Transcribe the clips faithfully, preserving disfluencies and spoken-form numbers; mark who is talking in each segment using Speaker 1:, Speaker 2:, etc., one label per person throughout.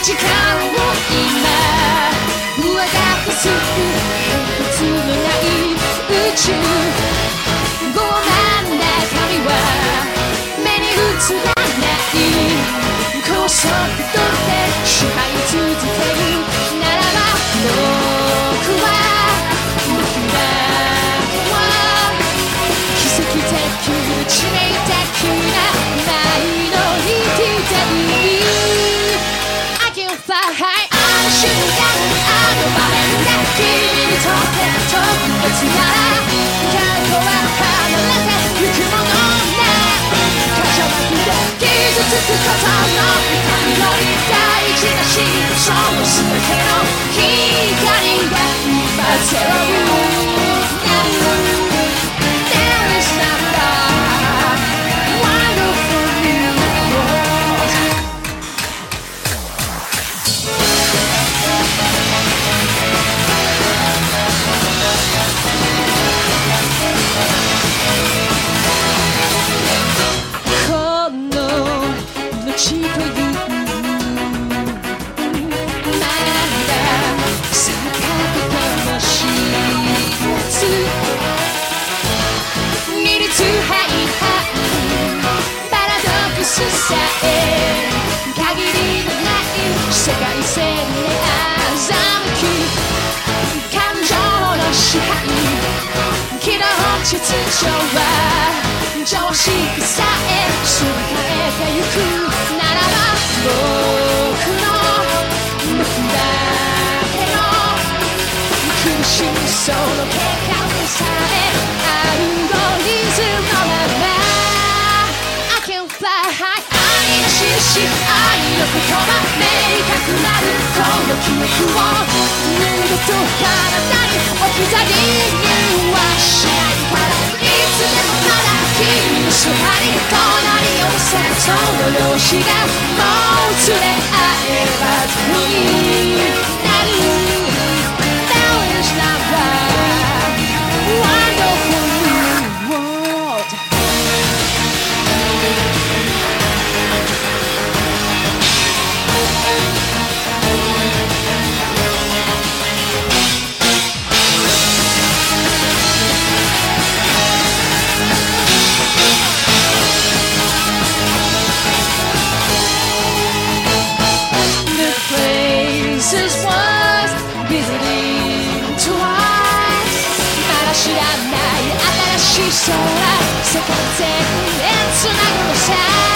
Speaker 1: 力を今上書きする変哲のない宇宙傲慢な神は目に映らない高速度で支配続けるならば僕は僕だけは奇跡的致命的なマイノリティだI can fly high あの瞬間あの場面が君にとって特別なら過去は離れてゆくものない過剰なくて傷つくことの痛みより大事なしその全ての光が今ゼロThere is nothing wonderful new worldこの命というまだ咲かけのし二律背反パラドックスさえ限りのない世界線で欺き感情の支配軌道秩序は常識さえすり替えてゆくならば僕の僕だけの苦しみその結果でさえアルゴリズムのまま I can fly high 愛の印愛の言葉明確なるこの記憶を二度と体に置き去りにはしないからいつでもまだ君のそばに隣り合わせその容姿がもう連れ合えばゼロになるThere is nothing wonderful new world The places was visiting twice まだ知らない新しい空世界全へつなぐのさ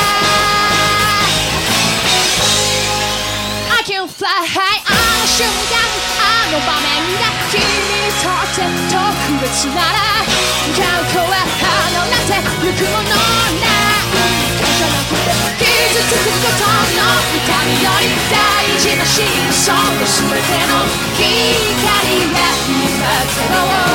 Speaker 1: I can fly high あの瞬間あの場面が君にとって特別なら過去は離れてゆくものない感謝なくて傷つくことの痛みより大事なしその全ての光が今ゼロ